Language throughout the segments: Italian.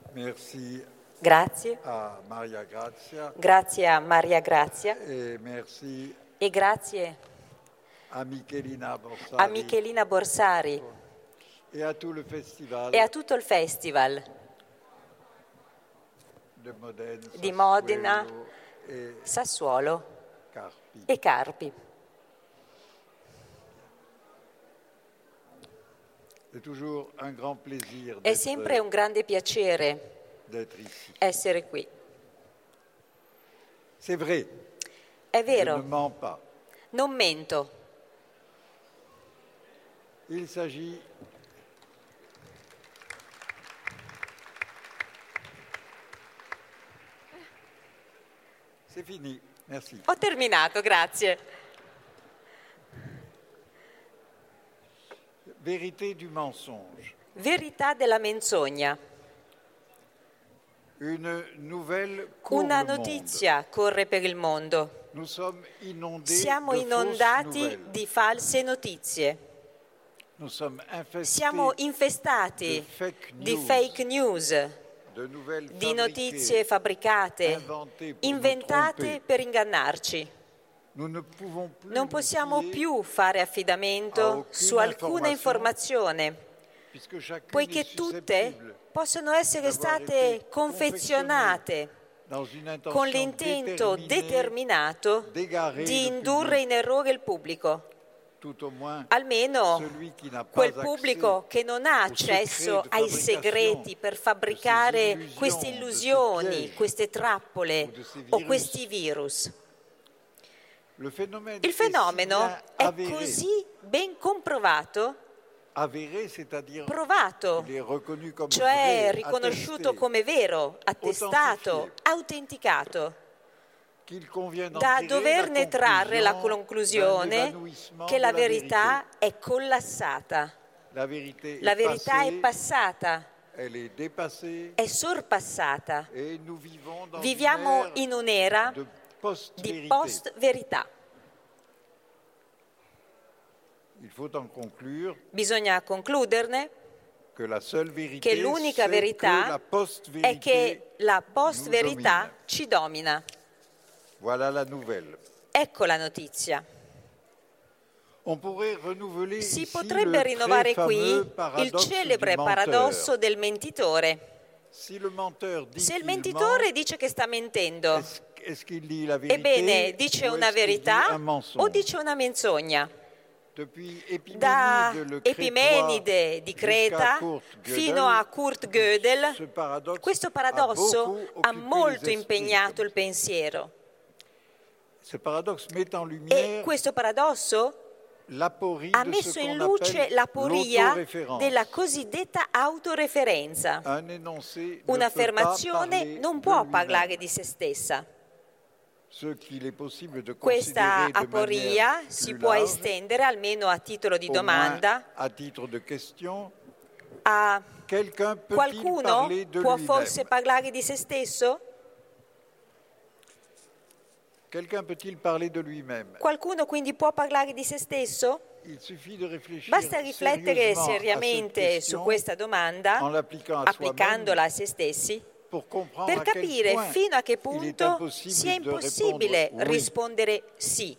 Merci Grazie. a Maria Grazia Grazie a Maria Grazia e merci e grazie a Michelina Borsari a Michelina Borsari e a tutto il festival e a tutto il festival di Modena, e Sassuolo Carpi. e Carpi. È sempre un grande piacere essere qui. È vero, non mento. C'est fini, merci. Ho terminato, grazie. Vérité du mensonge. Verità della menzogna. Una notizia corre per il mondo. Siamo inondati di false notizie. Siamo infestati di fake news, di notizie fabbricate, inventate per ingannarci. Non possiamo più fare affidamento su alcuna informazione, poiché tutte possono essere state confezionate con l'intento determinato di indurre in errore il pubblico. Almeno quel pubblico che non ha accesso ai segreti per fabbricare queste illusioni, queste trappole o questi virus. Il fenomeno è così ben comprovato, provato, cioè riconosciuto come vero, attestato, autenticato, da doverne trarre la conclusione che la verità è collassata, la verità è passata, è sorpassata. Viviamo in un'era di post-verità. Bisogna concluderne che l'unica verità è che la post-verità ci domina. Ecco la notizia. Si potrebbe rinnovare qui il celebre paradosso del mentitore. Se il mentitore dice che sta mentendo, ebbene, dice una verità o dice una menzogna? Da Epimenide di Creta fino a Kurt Gödel, questo paradosso ha molto impegnato il pensiero. E questo paradosso ha messo in luce l'aporia della cosiddetta autoreferenza. Un'affermazione non può parlare di se stessa. Questa aporia si può estendere, almeno a titolo di domanda, a qualcuno può forse parlare di se stesso? Qualcuno quindi può parlare di se stesso? Basta riflettere seriamente su questa domanda, applicandola a se stessi, per capire fino a che punto sia impossibile rispondere sì.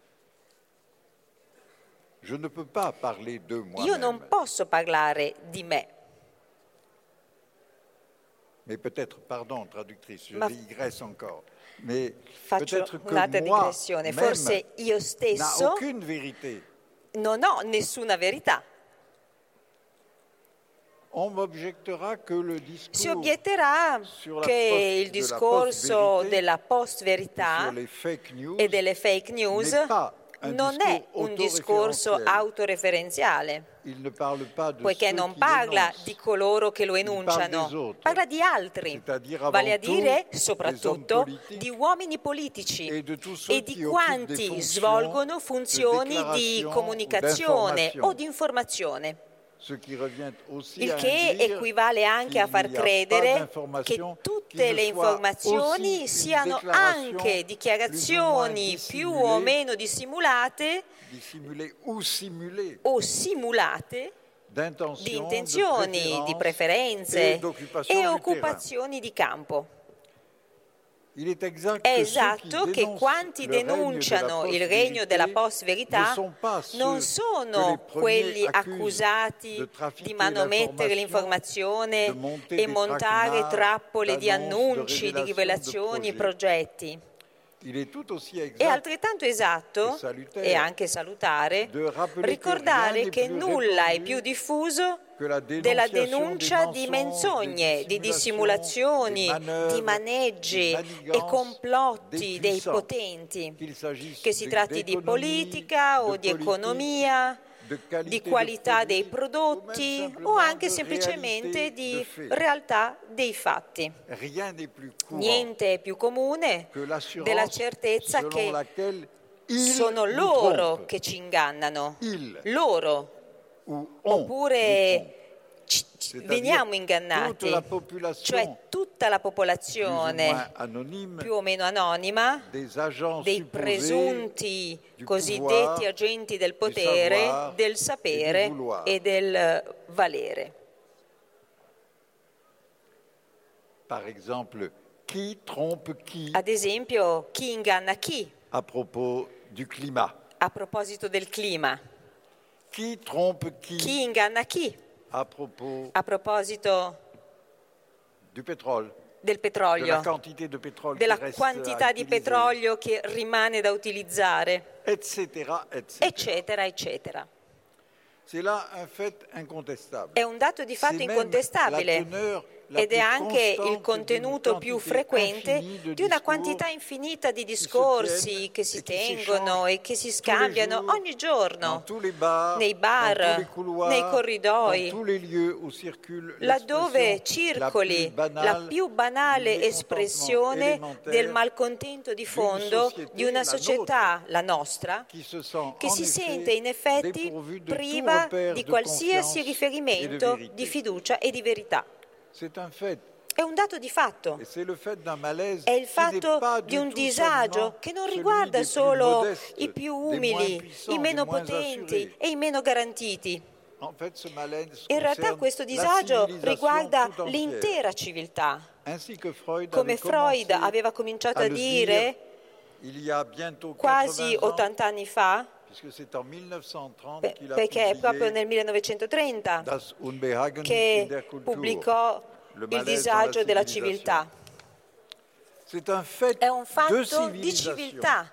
Io non posso parlare di me. Faccio un'altra digressione. Forse io stesso non ho nessuna verità. Si obietterà che il discorso della post-verità e delle fake news non è un discorso autoreferenziale, poiché non parla di coloro che lo enunciano, parla di altri, vale a dire soprattutto di uomini politici e di quanti svolgono funzioni di comunicazione o di informazione. Il che equivale anche a far credere che tutte le informazioni siano anche dichiarazioni più o meno dissimulate o simulate di intenzioni, di preferenze e occupazioni di campo. È esatto che quanti denunciano il regno della post-verità non sono quelli accusati di manomettere l'informazione e montare trappole di annunci, di rivelazioni e progetti. È altrettanto esatto e anche salutare ricordare che nulla è più diffuso della denuncia di menzogne, di dissimulazioni, di maneggi e complotti dei potenti, che si tratti di politica o di economia, di qualità dei prodotti o anche semplicemente di realtà dei fatti. Niente è più comune della certezza che sono loro che ci ingannano, loro, oppure veniamo ingannati, cioè tutta la popolazione più o meno anonima dei presunti cosiddetti agenti del potere, del sapere e del valere. Ad esempio, chi inganna chi? A proposito del clima. Chi inganna chi? A proposito del petrolio, della quantità di petrolio che rimane da utilizzare, eccetera, eccetera. È un dato di fatto incontestabile ed è anche il contenuto più frequente di una quantità infinita di discorsi che si tengono e che si scambiano ogni giorno nei bar, nei corridoi, laddove circoli la più banale espressione del malcontento di fondo di una società, la nostra, che si sente in effetti priva di qualsiasi riferimento di fiducia e di verità. È un dato di fatto, è il fatto di un disagio che non riguarda solo i più umili, i meno potenti e i meno garantiti. In realtà questo disagio riguarda l'intera civiltà. Come Freud aveva cominciato a dire quasi 80 anni fa, perché è proprio nel 1930 che pubblicò Il disagio della civiltà. È un fatto di civiltà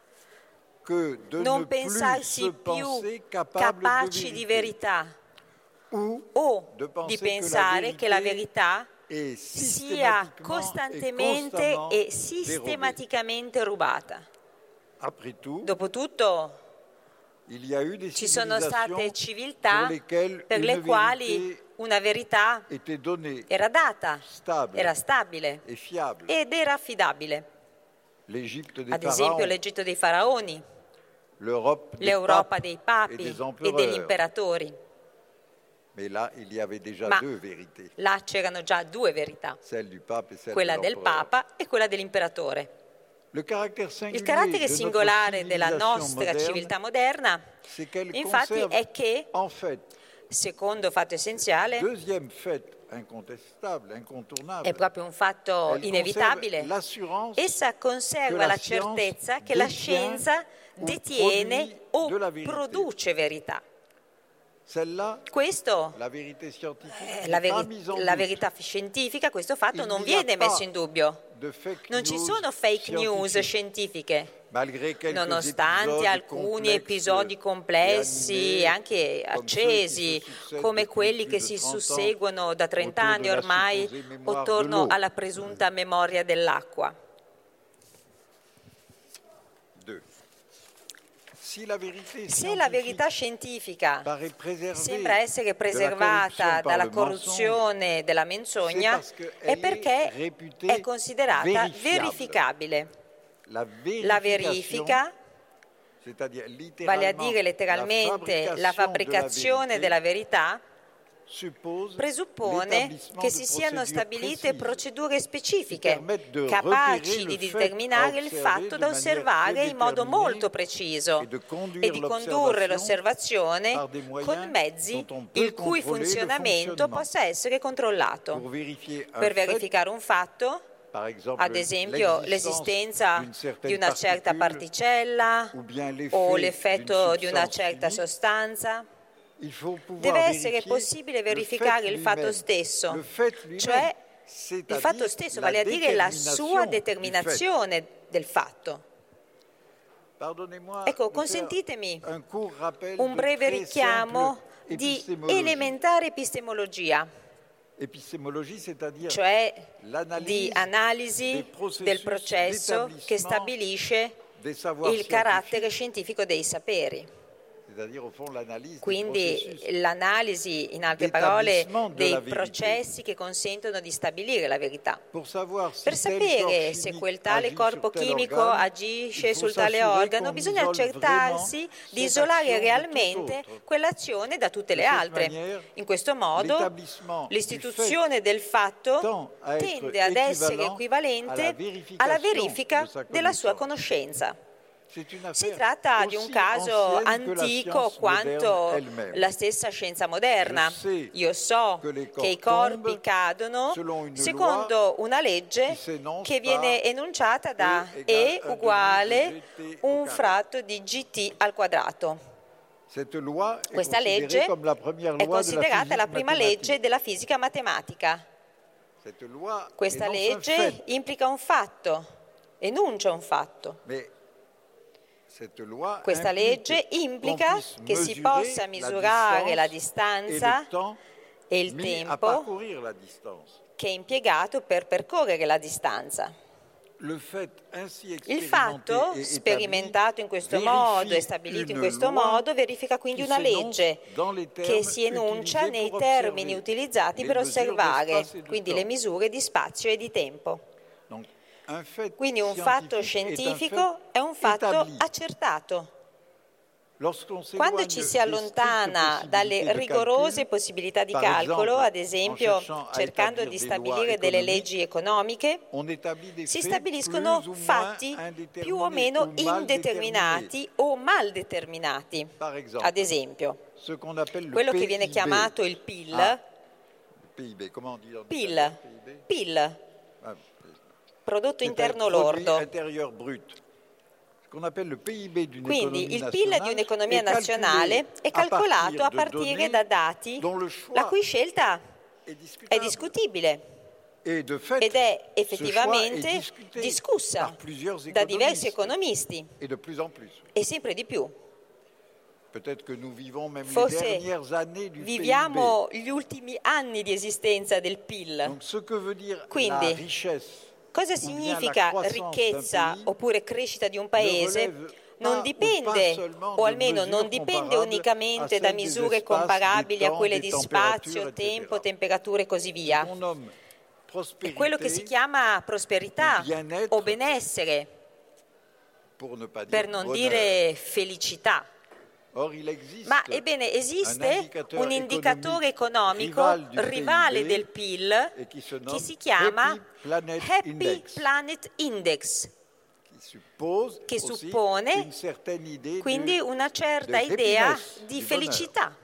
non pensarsi più capaci di verità o di pensare che la verità sia costantemente e sistematicamente rubata. Dopotutto, ci sono state civiltà per le quali una verità era data, era stabile ed era affidabile. Ad esempio l'Egitto dei faraoni, l'Europa dei papi e degli imperatori. Ma là c'erano già due verità, quella del Papa e quella dell'imperatore. Il carattere singolare della nostra civiltà moderna, infatti, è che, secondo fatto essenziale, è proprio un fatto inevitabile, essa conserva la certezza che la scienza detiene o produce verità. Questo, la verità scientifica, questo fatto non viene messo in dubbio. Non ci sono fake news scientifiche, nonostante alcuni episodi complessi e anche accesi, come quelli che si susseguono da 30 anni ormai attorno alla presunta memoria dell'acqua. Se la verità scientifica sembra essere preservata dalla corruzione e dalla menzogna, è perché è considerata verificabile. La verifica, vale a dire letteralmente la fabbricazione della verità, presuppone che si siano stabilite procedure specifiche capaci di determinare il fatto da osservare in modo molto preciso e di condurre l'osservazione con mezzi il cui funzionamento possa essere controllato. Per verificare un fatto, ad esempio l'esistenza di una certa particella o l'effetto di una certa sostanza, deve essere possibile verificare il fatto stesso, cioè il fatto stesso, vale a dire la sua determinazione del fatto. Ecco, consentitemi un breve richiamo di elementare epistemologia, cioè di analisi del processo che stabilisce il carattere scientifico dei saperi. Quindi l'analisi, in altre parole, dei processi che consentono di stabilire la verità. Per sapere se quel tale corpo chimico agisce sul tale organo, bisogna accertarsi di isolare realmente quell'azione da tutte le altre. In questo modo l'istituzione del fatto tende ad essere equivalente alla verifica della sua conoscenza. Si tratta di un caso antico quanto la stessa scienza moderna. Io so che i corpi cadono secondo una legge che viene enunciata da E uguale un fratto di GT al quadrato. Questa legge è considerata la prima legge della fisica matematica. Questa legge implica un fatto, enuncia un fatto. Questa legge implica che si possa misurare la distanza e il tempo che è impiegato per percorrere la distanza. Il fatto, sperimentato in questo modo e stabilito in questo modo, verifica quindi una legge che si enuncia nei termini utilizzati per osservare, quindi le misure di spazio e di tempo. Quindi un fatto scientifico è un fatto accertato. Quando ci si allontana dalle rigorose possibilità di calcolo, ad esempio cercando di stabilire delle leggi economiche, si stabiliscono fatti più o meno indeterminati o mal determinati. Ad esempio, quello che viene chiamato il PIL, prodotto interno lordo. Quindi il PIL di un'economia nazionale è calcolato a partire da dati la cui scelta è discutibile ed è effettivamente discussa da diversi economisti e sempre di più. Forse viviamo gli ultimi anni di esistenza del PIL. Quindi, cosa significa ricchezza oppure crescita di un paese? Non dipende, o almeno non dipende unicamente da misure comparabili a quelle di spazio, tempo, temperatura e così via. È quello che si chiama prosperità o benessere, per non dire felicità. Ma ebbene, esiste un indicatore economico rivale del PIL che si chiama Happy Planet Index, che suppone quindi una certa idea di felicità.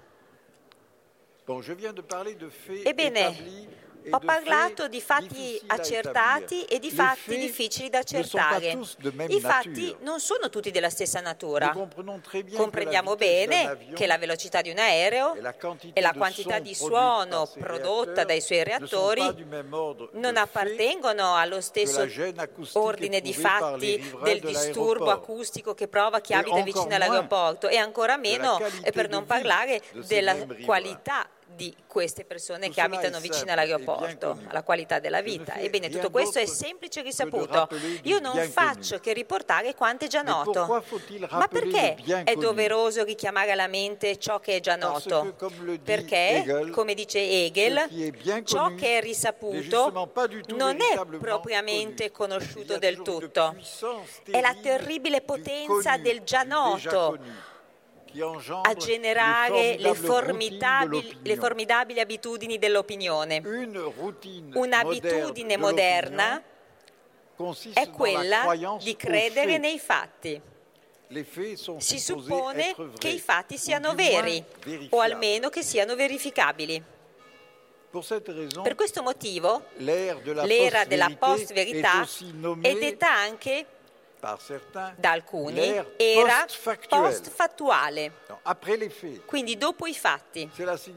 Ebbene, ho parlato di fatti accertati e di fatti difficili da accertare. I fatti non sono tutti della stessa natura. Comprendiamo bene che la velocità di un aereo e la quantità di suono prodotta dai suoi reattori non appartengono allo stesso ordine di fatti del disturbo acustico che prova chi abita vicino all'aeroporto, e ancora meno, e per non parlare della qualità di queste persone che abitano vicino all'aeroporto, alla qualità della vita. Ebbene, tutto questo è semplice e risaputo. Io non faccio che riportare quanto è già noto. Ma perché è doveroso richiamare alla mente ciò che è già noto? Perché, come dice Hegel, ciò che è risaputo non è propriamente conosciuto del tutto. È la terribile potenza del già noto, a generare le formidabili abitudini dell'opinione. Un'abitudine moderna è quella di credere nei fatti. Si suppone che i fatti siano veri, o almeno che siano verificabili. Per questo motivo, l'era della post-verità è detta anche da alcuni era post-fattuale, quindi dopo i fatti.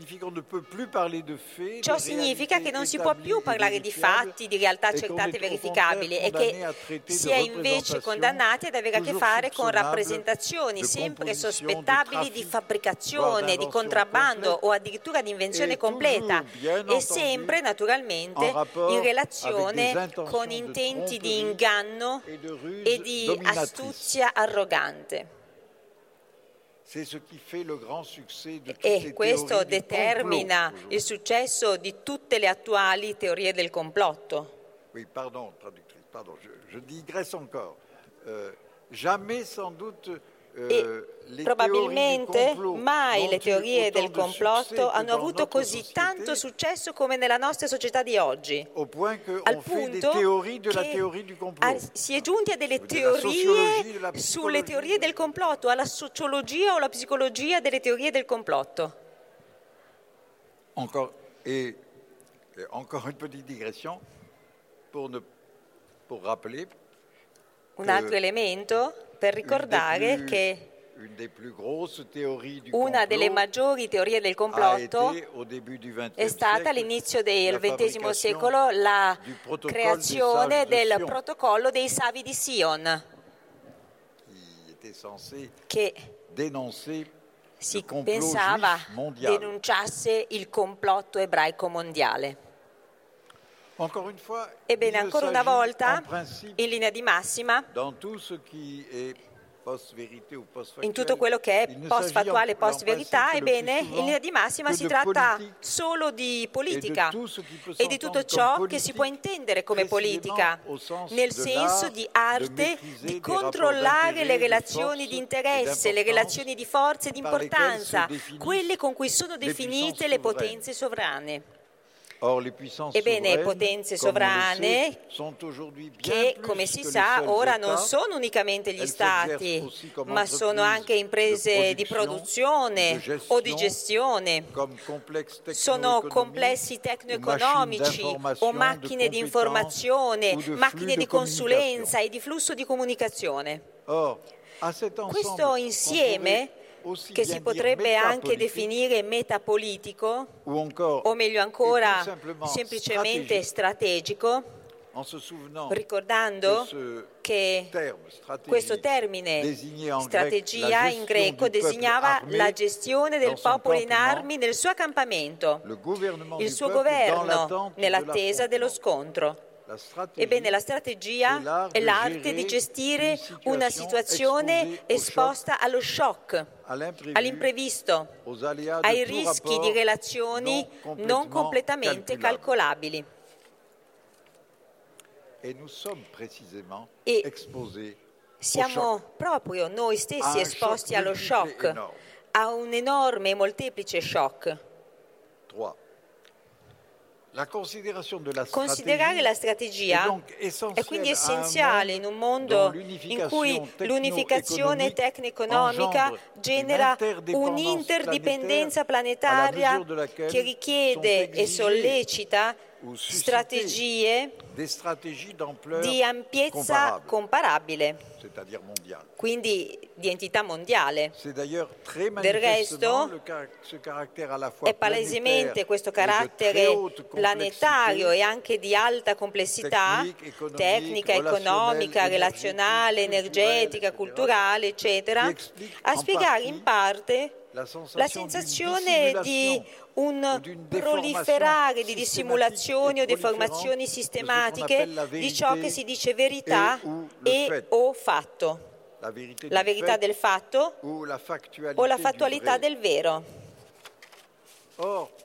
Ciò significa che non si può più parlare di fatti, di realtà accertate e verificabili, e che si è invece condannati ad avere a che fare con rappresentazioni sempre sospettabili di fabbricazione, di contrabbando o addirittura di invenzione completa, e sempre naturalmente in relazione con intenti di inganno e di astuzia arrogante. E questo determina il successo di tutte le attuali teorie del complotto. Oui, pardon, traductrice, pardon, je digresse encore. Jamais sans doute probabilmente mai le teorie del complotto hanno avuto così tanto successo come nella nostra società di oggi, al punto che si è giunti a delle teorie sulle teorie del complotto, alla sociologia o alla psicologia delle teorie del complotto. Encore une petite digression pour rappeler un altro elemento per ricordare che una delle maggiori teorie del complotto è stata all'inizio del XX secolo la creazione del protocollo dei Savi di Sion, che si pensava denunciasse il complotto ebraico mondiale. Ebbene, ancora una volta, in linea di massima, in tutto quello che è post-fattuale e post-verità, ebbene, in linea di massima si tratta solo di politica e di tutto ciò che si può intendere come politica, nel senso di arte di controllare le relazioni di interesse, le relazioni di forza e di importanza, quelle con cui sono definite le potenze sovrane. Ebbene, potenze sovrane che, come si sa, ora non sono unicamente gli stati, ma sono anche imprese di produzione o di gestione, sono complessi tecno-economici o macchine di informazione, macchine di consulenza e di flusso di comunicazione. Questo insieme, che si potrebbe anche definire metapolitico, o meglio ancora semplicemente strategico, ricordando che questo termine, strategia in greco, designava la gestione del popolo in armi nel suo accampamento, il suo governo nell'attesa dello scontro. Ebbene, la strategia è l'arte di gestire una situazione esposta allo shock, all'imprevisto, ai rischi di relazioni non completamente calcolabili. E siamo proprio noi stessi esposti allo shock, a un enorme e molteplice shock. Considerare la strategia è quindi essenziale in un mondo in cui l'unificazione tecno-economica genera un'interdipendenza planetaria che richiede e sollecita strategie di ampiezza comparabile, quindi di entità mondiale. Del resto, è palesemente questo carattere planetario e anche di alta complessità, tecnica, economica, relazionale, energetica, culturale, eccetera, a spiegare in parte la sensazione di un proliferare di dissimulazioni o deformazioni sistematiche di ciò che si dice verità e o fatto, la verità del fatto o la fattualità del vero.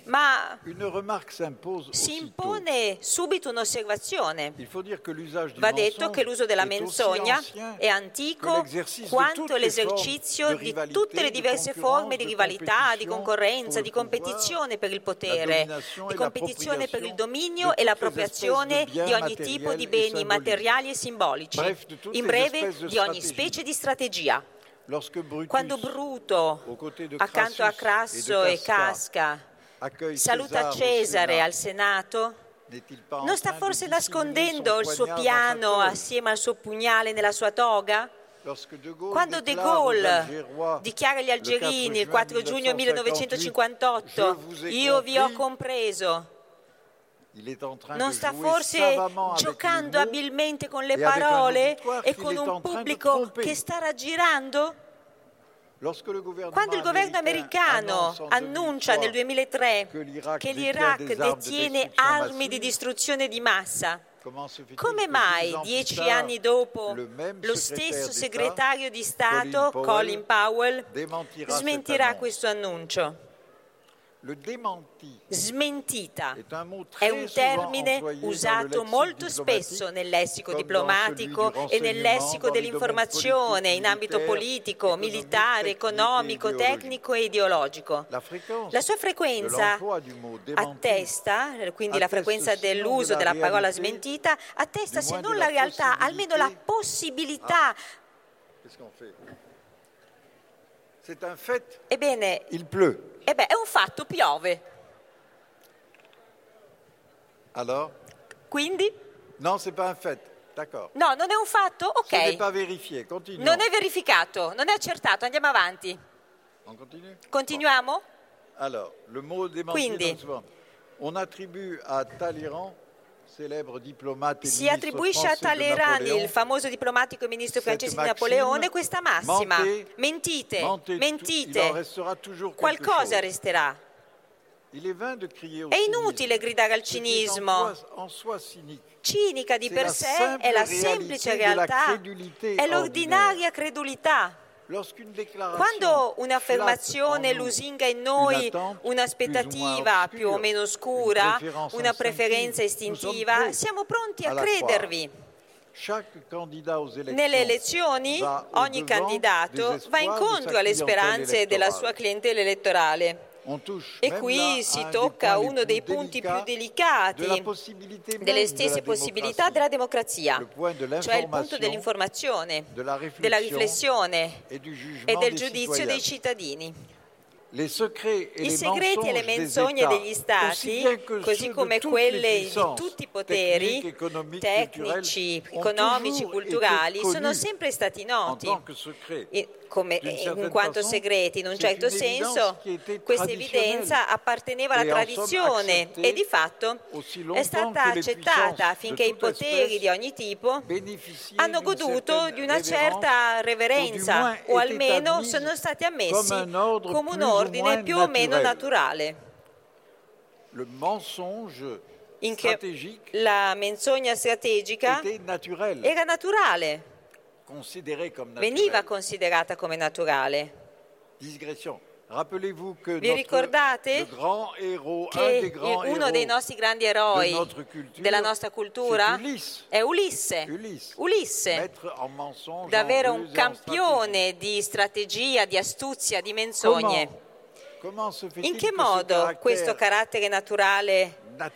Ma une remarque s'impose si aussitôt. impone subito un'osservazione. Il faut dire que l'usage du Va detto che l'uso della menzogna è antico quanto l'esercizio di tutte le diverse forme di rivalità, di concorrenza, di competizione per il potere, di competizione per il dominio e l'appropriazione di ogni tipo di beni materiali e simbolici, in breve di ogni specie di strategia. Quando Bruto, accanto a Crasso e Casca, saluta Cesare al Senato, non sta forse nascondendo il suo piano assieme al suo pugnale nella sua toga? Quando De Gaulle dichiara agli algerini il 4 giugno 1958 «Io vi ho compreso», non sta forse giocando abilmente con le parole e con un pubblico che sta raggirando? Quando il governo americano annuncia nel 2003 che l'Iraq detiene armi di distruzione di massa, come mai 10 anni dopo lo stesso segretario di Stato, Colin Powell, smentirà questo annuncio? Smentita è un termine usato molto spesso nel lessico diplomatico e nel lessico dell'informazione in ambito politico, militare, economico, tecnico e ideologico. La sua frequenza attesta, quindi la frequenza dell'uso della parola smentita, attesta se non la realtà, almeno la possibilità. Ebbene, il pleut. è un fatto, piove. Alors? Quindi? Non, c'est pas un fait. D'accord. No, non è un fatto? Ok. Ce n'est pas vérifié. Continuons. Non è verificato, non è accertato. Andiamo avanti. On continue? Continuiamo? Alors, le mot démenti, on attribue à Talleyrand, célèbre diplomate e si attribuisce a Talleyrand, il famoso diplomatico e ministro francese di Napoleone, questa massima: mentite, mentite, qualcosa resterà. È inutile gridare al cinismo. Cinica di per sé è la semplice realtà, è l'ordinaria credulità. Quando un'affermazione lusinga in noi un'aspettativa più o meno oscura, una preferenza istintiva, siamo pronti a credervi. Nelle elezioni ogni candidato va incontro alle speranze della sua clientela elettorale. E qui si tocca uno dei punti più delicati delle stesse possibilità della democrazia, cioè il punto dell'informazione, della riflessione e del giudizio dei cittadini. I segreti e le menzogne degli Stati, così come quelle di tutti i poteri tecnici, economici, culturali, sono sempre stati noti. In quanto segreti, in un certo senso, questa evidenza apparteneva alla tradizione e di fatto è stata accettata affinché i poteri di ogni tipo hanno goduto di una certa reverenza o almeno sono stati ammessi come un ordine più o meno naturale. In che la menzogna strategica era naturale. Veniva considerata come naturale. Vi ricordate che uno dei nostri grandi eroi della nostra cultura è Ulisse, davvero un campione di strategia, di astuzia, di menzogne. In che modo questo carattere naturale,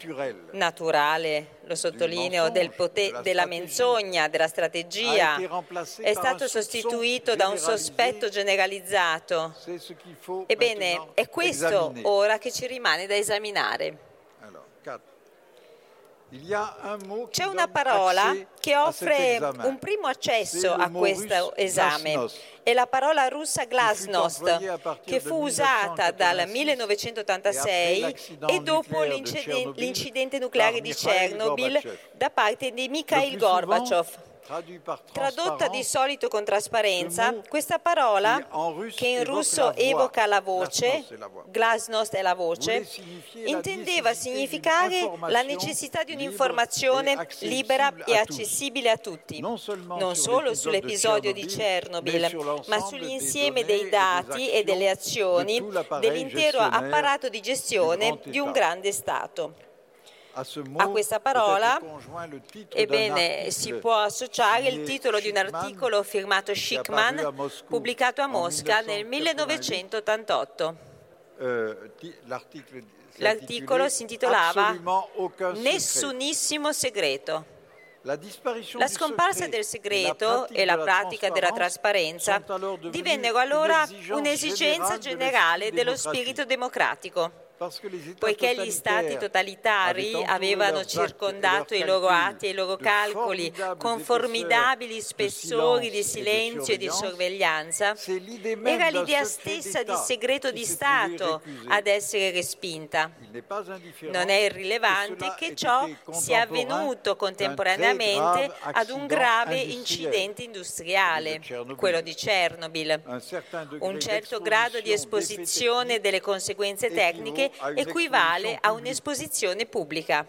lo sottolineo, della menzogna, della strategia, è stato sostituito da un sospetto generalizzato? Ebbene, è questo ora che ci rimane da esaminare. C'è una parola che offre un primo accesso a questo esame. È la parola russa glasnost, che fu usata dal 1986 e dopo l'incidente nucleare di Chernobyl da parte di Mikhail Gorbaciov. Tradotta di solito con trasparenza, questa parola, che in russo evoca la voce, glasnost è la voce, intendeva significare la necessità di un'informazione libera e accessibile a tutti, non solo sull'episodio di Chernobyl, ma sull'insieme dei dati e delle azioni dell'intero apparato di gestione di un grande Stato. A questa parola, ebbene, si può associare il titolo di un articolo firmato Schickman, pubblicato a Mosca nel 1988. L'articolo si intitolava Nessunissimo segreto. La scomparsa del segreto e la pratica della trasparenza divennero allora un'esigenza generale dello spirito democratico. Poiché gli stati totalitari avevano circondato i loro atti e i loro calcoli con formidabili spessori di silenzio e di sorveglianza, era l'idea stessa di segreto di Stato ad essere respinta. Non è irrilevante che ciò sia avvenuto contemporaneamente ad un grave incidente industriale, quello di Chernobyl. Un certo grado di esposizione delle conseguenze tecniche equivale a un'esposizione pubblica.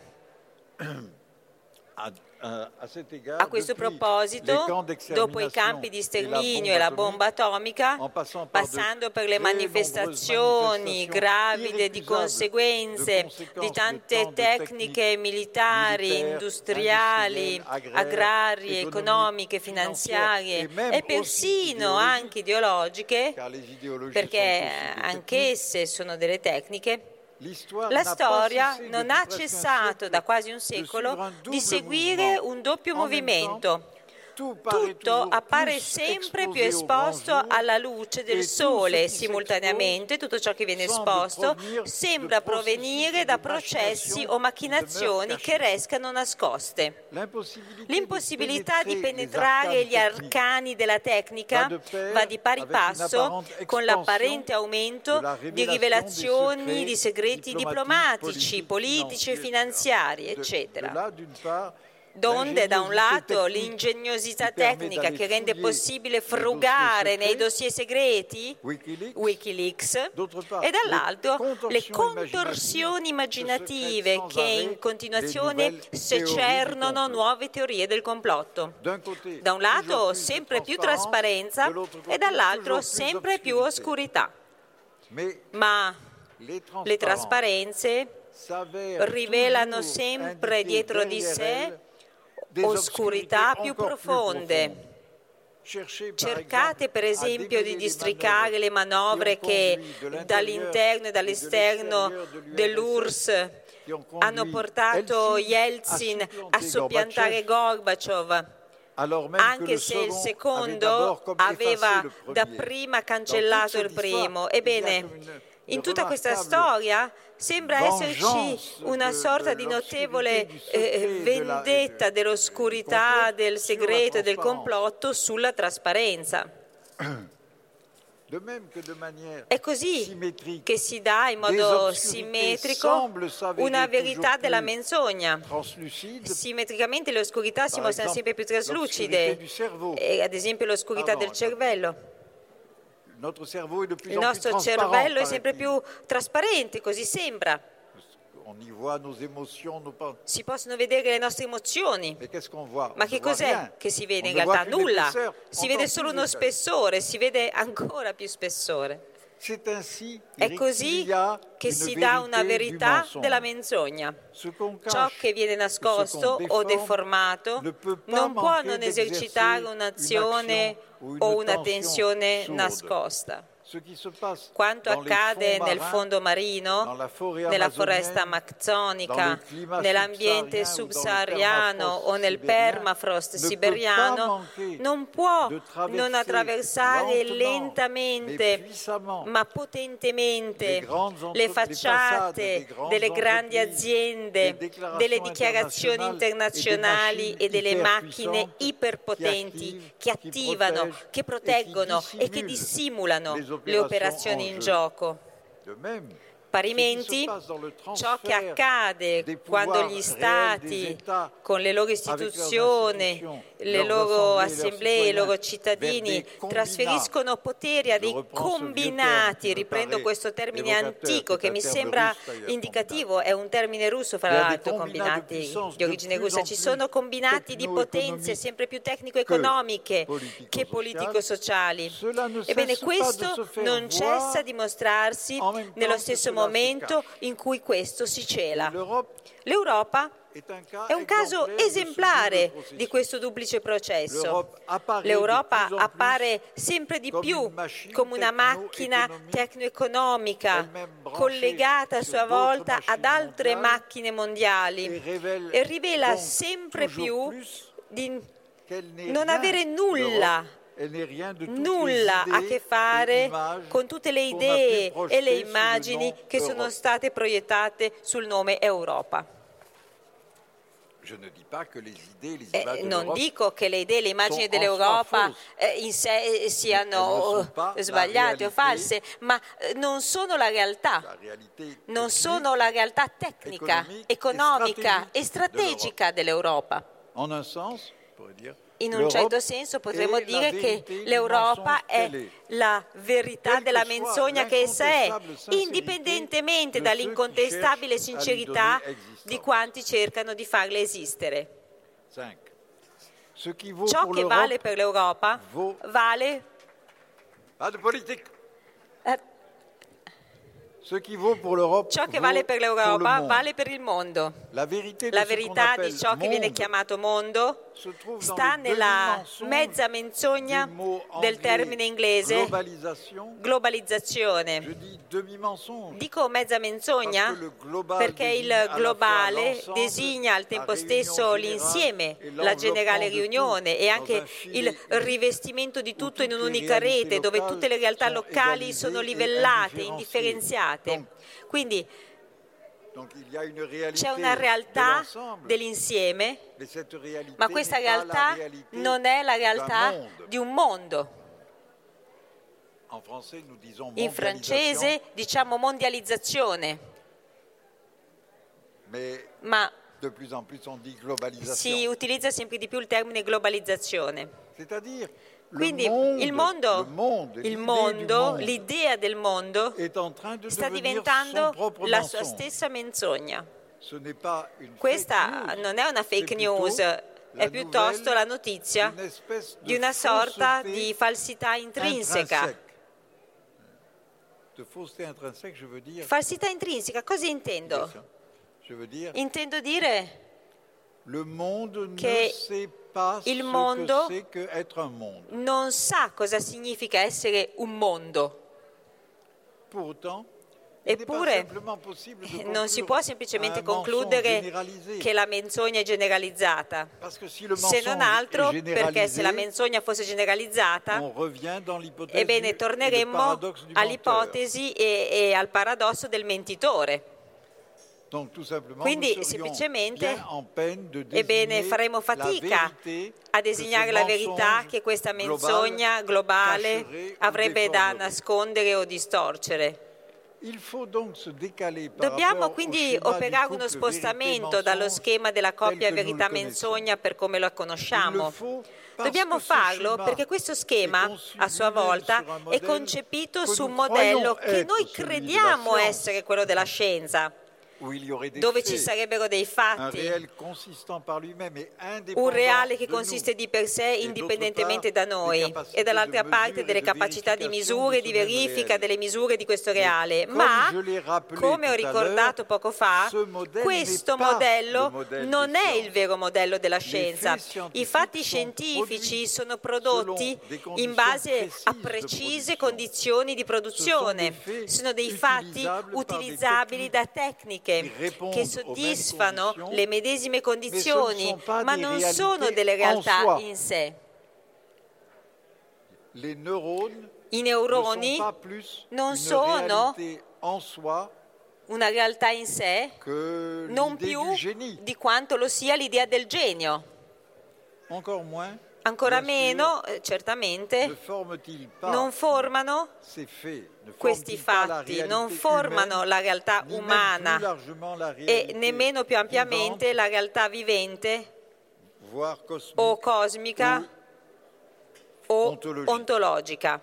A questo proposito, dopo i campi di sterminio e la bomba atomica, passando per le manifestazioni gravide di conseguenze di tante tecniche militari, industriali, agrarie, economiche, finanziarie e persino anche ideologiche, perché anch'esse sono delle tecniche, la storia non ha cessato da quasi un secolo di seguire un doppio movimento. Tutto appare sempre più esposto alla luce del sole e simultaneamente tutto ciò che viene esposto sembra provenire da processi o macchinazioni che restano nascoste. L'impossibilità di penetrare gli arcani della tecnica va di pari passo con l'apparente aumento di rivelazioni di segreti diplomatici, politici e finanziari, eccetera. Donde da un lato l'ingegnosità tecnica che rende possibile frugare nei dossier segreti, Wikileaks, e dall'altro le contorsioni immaginative che in continuazione secernono nuove teorie del complotto. Da un lato sempre più trasparenza e dall'altro sempre più oscurità. Ma le trasparenze rivelano sempre dietro di sé oscurità più profonde. Cercate per esempio di districare le manovre che dall'interno e dall'esterno dell'URSS hanno portato Yeltsin a soppiantare Gorbaciov, anche se il secondo aveva dapprima cancellato il primo. Ebbene, in tutta questa storia sembra esserci una sorta di notevole vendetta dell'oscurità, del segreto e del complotto sulla trasparenza. È così che si dà in modo simmetrico una verità della menzogna. Simmetricamente le oscurità si mostrano sempre più traslucide, ad esempio l'oscurità del cervello. Il nostro cervello è sempre più trasparente, così sembra. Si possono vedere le nostre emozioni. Ma che cos'è che si vede in realtà? Nulla. Si vede solo uno spessore, si vede ancora più spessore. È così che si dà una verità della menzogna. Ciò che viene nascosto o deformato non può non esercitare un'azione o una tensione nascosta. Quanto accade nel fondo marino, nella foresta amazzonica, nell'ambiente subsahariano o nel permafrost siberiano, non può non attraversare lentamente ma potentemente le facciate delle grandi aziende, delle dichiarazioni internazionali e delle macchine iperpotenti che attivano, che proteggono e che dissimulano le operazioni in gioco. Parimenti, ciò che accade quando gli Stati, con le loro istituzioni, le loro assemblee, i loro cittadini, trasferiscono poteri a dei combinati, riprendo questo termine antico che mi sembra indicativo, è un termine russo fra l'altro, combinati di origine russa, ci sono combinati di potenze sempre più tecnico-economiche che politico-sociali. Ebbene, questo non cessa di mostrarsi nello stesso momento in cui questo si cela. L'Europa è un caso esemplare di questo duplice processo. L'Europa appare sempre di più come una macchina tecno-economica collegata a sua volta ad altre macchine mondiali e rivela sempre più di non avere nulla a che fare con tutte le idee e le immagini che sono state proiettate sul nome Europa. Non dico che le idee e le immagini dell'Europa in sé siano sbagliate o false, ma non sono la realtà. Non sono la realtà tecnica, economica e strategica dell'Europa. In un certo senso potremmo dire che l'Europa è la verità della menzogna che essa è, indipendentemente dall'incontestabile sincerità di quanti cercano di farle esistere. Ciò che vale per l'Europa vale... Ciò che vale per l'Europa vale per il mondo. La verità di ciò che viene chiamato mondo sta nella mezza menzogna del termine inglese globalizzazione. Dico mezza menzogna perché il globale designa al tempo stesso l'insieme, la generale riunione e anche il rivestimento di tutto in un'unica rete dove tutte le realtà locali sono livellate, indifferenziate. Quindi c'è una realtà dell'insieme, ma questa realtà non è la realtà di un mondo. In francese diciamo mondializzazione, ma si utilizza sempre di più il termine globalizzazione. Quindi il mondo, l'idea del mondo sta diventando la sua stessa menzogna. Questa non è una fake news, è piuttosto la notizia di una sorta di falsità intrinseca. Falsità intrinseca, cosa intendo? Intendo dire che il mondo non sa cosa significa essere un mondo. Eppure non si può semplicemente concludere che la menzogna è generalizzata, se non altro perché se la menzogna fosse generalizzata, ebbene torneremmo all'ipotesi e al paradosso del mentitore. Quindi semplicemente faremo fatica a designare la verità che questa menzogna globale avrebbe da nascondere o distorcere. Dobbiamo quindi operare uno spostamento dallo schema della coppia verità-menzogna per come la conosciamo. Dobbiamo farlo perché questo schema, a sua volta, è concepito su un modello che noi crediamo essere quello della scienza, dove ci sarebbero dei fatti, un reale che consiste di per sé indipendentemente da noi e dall'altra parte delle capacità di misura e di verifica delle misure di questo reale. Ma, come ho ricordato poco fa, questo modello non è il vero modello della scienza. I fatti scientifici sono prodotti in base a precise condizioni di produzione, sono dei fatti utilizzabili da tecniche che soddisfano le medesime condizioni, ma non sono delle realtà in sé. I neuroni non sono una realtà in sé, non più di quanto lo sia l'idea del genio. Ancora meno, certamente, non formano questi fatti, non formano la realtà umana e nemmeno più ampiamente la realtà vivente o cosmica o ontologica.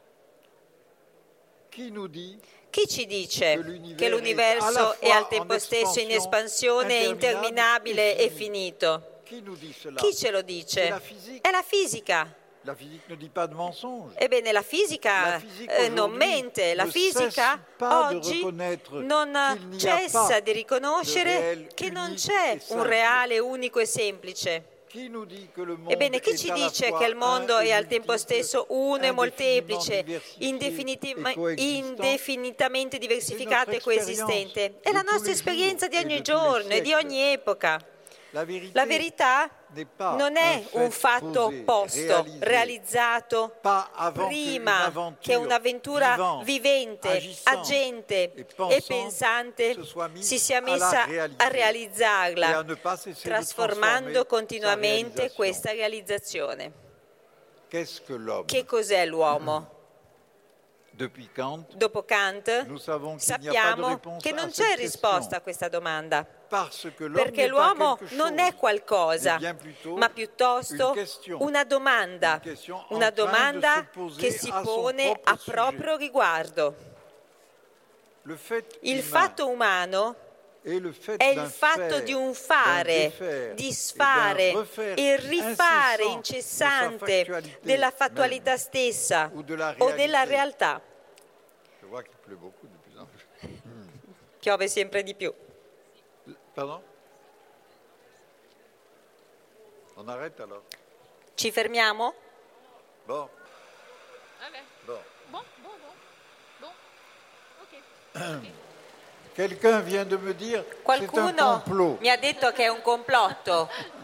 Chi ci dice che l'universo è al tempo stesso in espansione, interminabile e finito? Chi ce lo dice? È la fisica. Ebbene, la fisica non mente, la fisica oggi non cessa di riconoscere che non c'è un reale, unico e semplice. Ebbene, chi ci dice che il mondo è al tempo stesso uno e molteplice, indefinitamente diversificato e coesistente? È la nostra esperienza di ogni giorno e di ogni epoca. La verità non è un fatto posto, realizzato prima che un'avventura vivente, agente e pensante si sia messa a realizzarla, trasformando continuamente questa realizzazione. Che cos'è l'uomo? Dopo Kant sappiamo che non c'è risposta a questa domanda, perché l'uomo non è qualcosa, ma piuttosto una domanda che si pone a proprio riguardo. Il fatto umano è il fatto di un fare, disfare e rifare incessante della fattualità stessa o della realtà. Piove sempre di più. Pardon? On arrête alors? Ci fermiamo? Bon. Ok. Quelqu'un vient de me dire Qualcuno c'est un complot. Mi ha detto che è un complotto.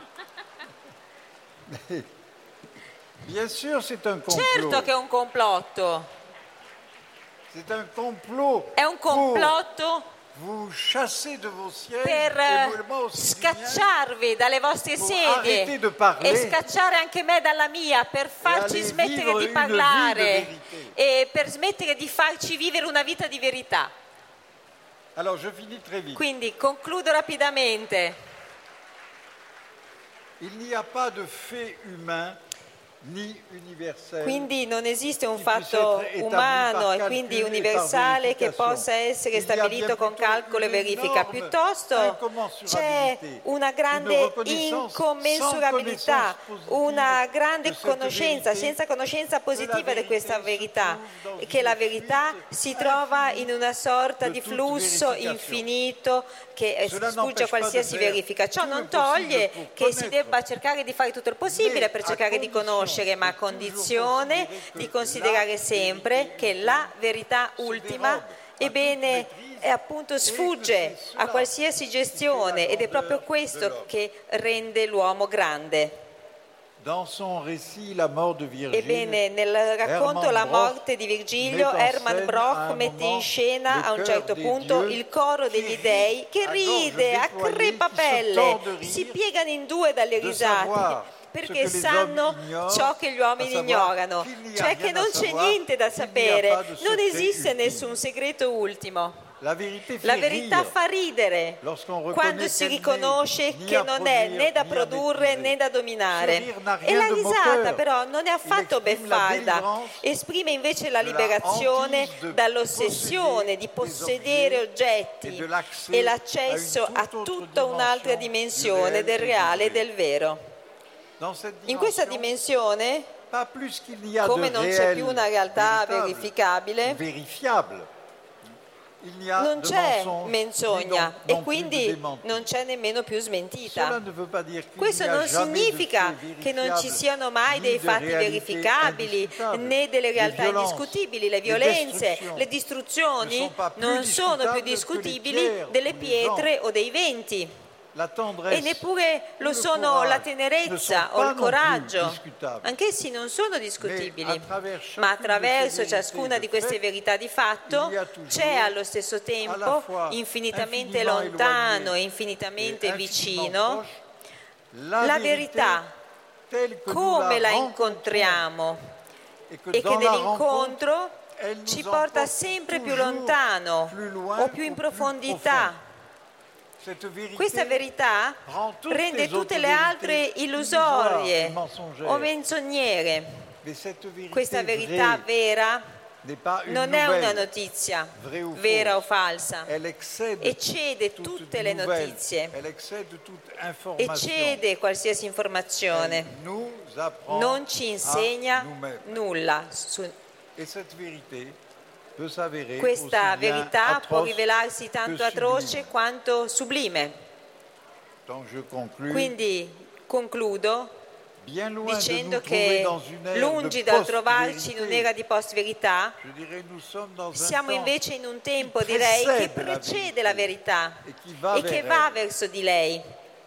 Bien sûr, c'est un complot. Certo che è un complotto. C'est un complot. È un complotto vous chasser de vos sièges per scacciarvi dalle vostre sedie e scacciare anche me dalla mia, per farci smettere di parlare e per smettere di farci vivere una vita di verità. Alors, je finis très vite. Quindi concludo rapidamente. Il n'y a pas de fait humain ni universel. Quindi non esiste un fatto umano e quindi universale che possa essere stabilito con calcolo e verifica. Piuttosto c'è una grande incommensurabilità, una grande conoscenza, senza conoscenza positiva di questa verità, che la verità si trova in una sorta di flusso infinito che sfugge a qualsiasi verifica. Ciò non toglie che si debba cercare di fare tutto il possibile per cercare di conoscere, ma a condizione di considerare sempre che la verità ultima, ebbene, appunto sfugge a qualsiasi gestione, ed è proprio questo che rende l'uomo grande. Ebbene, nel racconto La morte di Virgilio, Hermann Broch mette in scena a un certo punto il coro degli dei che ride a crepapelle, si piegano in due dalle risate, perché sanno ciò che gli uomini ignorano, cioè che non c'è niente da sapere, non esiste nessun segreto ultimo. La verità fa ridere quando si riconosce che non è né da produrre né da dominare. E la risata però non è affatto beffarda, esprime invece la liberazione dall'ossessione di possedere oggetti e l'accesso a tutta un'altra dimensione del reale e del vero. In questa dimensione, come non c'è più una realtà verificabile, non c'è menzogna e quindi non c'è nemmeno più smentita. Questo non significa che non ci siano mai dei fatti verificabili né delle realtà indiscutibili. Le violenze, le distruzioni non sono più discutibili delle pietre o dei venti. E neppure lo sono la tenerezza o il coraggio, anch'essi non sono discutibili, ma attraverso ciascuna di queste verità di fatto c'è allo stesso tempo, infinitamente lontano e infinitamente vicino, la verità come la incontriamo e che nell'incontro ci porta sempre più lontano o più in profondità. Questa verità rende tutte le altre illusorie o menzognere. Questa verità vera non è una notizia vera o falsa, eccede tutte le notizie, eccede qualsiasi informazione, non ci insegna nulla. Questa verità può rivelarsi tanto atroce quanto sublime. Quindi concludo dicendo che lungi dal trovarci in un'era di post-verità, siamo invece in un tempo, direi, che precede la verità e che va verso di lei,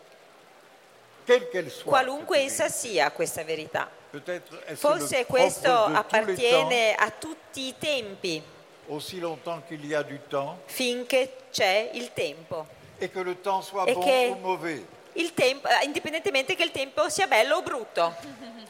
qualunque essa sia questa verità. Forse questo appartiene a tutti i tempi, finché c'è il tempo, e che il tempo, indipendentemente che il tempo sia bello o brutto.